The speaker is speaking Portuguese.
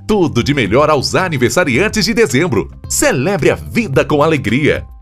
Tudo de melhor aos aniversariantes de dezembro. Celebre a vida com alegria.